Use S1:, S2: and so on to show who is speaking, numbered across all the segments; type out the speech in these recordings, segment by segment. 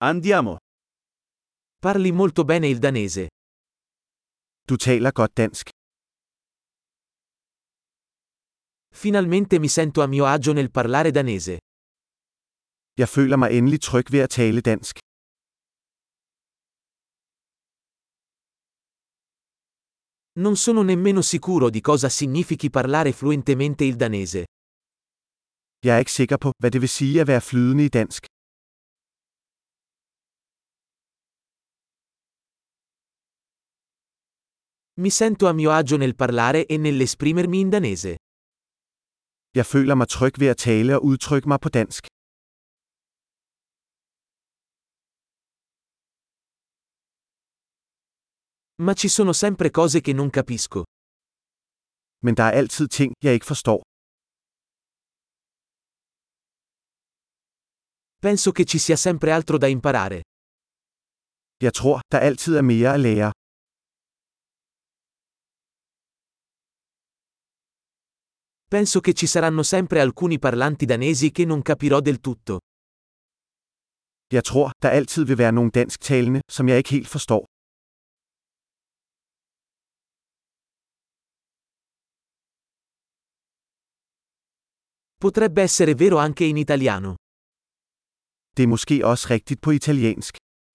S1: Andiamo.
S2: Parli molto bene il danese.
S3: Du taler godt dansk.
S2: Finalmente mi sento a mio agio nel parlare danese.
S3: Jeg føler mig endelig tryg ved at tale dansk.
S2: Non sono nemmeno sicuro di cosa significhi parlare fluentemente il danese.
S3: Jeg er ikke sikker på, hvad det vil sige at være flydende i dansk.
S2: Mi sento a mio agio nel parlare e nell'esprimermi in danese.
S3: Jeg føler mig tryg ved at tale og udtrykke mig på dansk.
S2: Ma ci sono sempre cose che non capisco.
S3: Men der er altid ting, jeg ikke forstår.
S2: Penso che ci sia sempre altro da imparare.
S3: Jeg tror, der altid er mere at lære.
S2: Penso che ci saranno sempre alcuni parlanti danesi che non capirò del tutto.
S3: Jeg tror, der altid vil være nogle dansktalende, som jeg ikke helt forstår.
S2: Potrebbe essere vero anche in italiano.
S3: Det er måske også rigtigt på italiensk.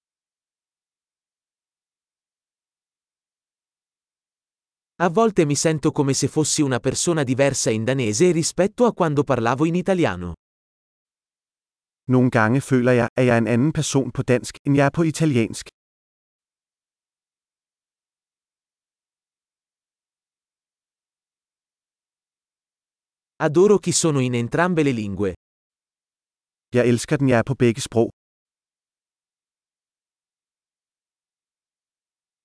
S2: A volte mi sento come se fossi una persona diversa in danese rispetto a quando parlavo in italiano.
S3: Nogle gange føler jeg, at jeg er en anden person på dansk, end jeg er på italiensk.
S2: Adoro chi sono in entrambe le lingue.
S3: Jeg elsker den, jeg er på begge sprog.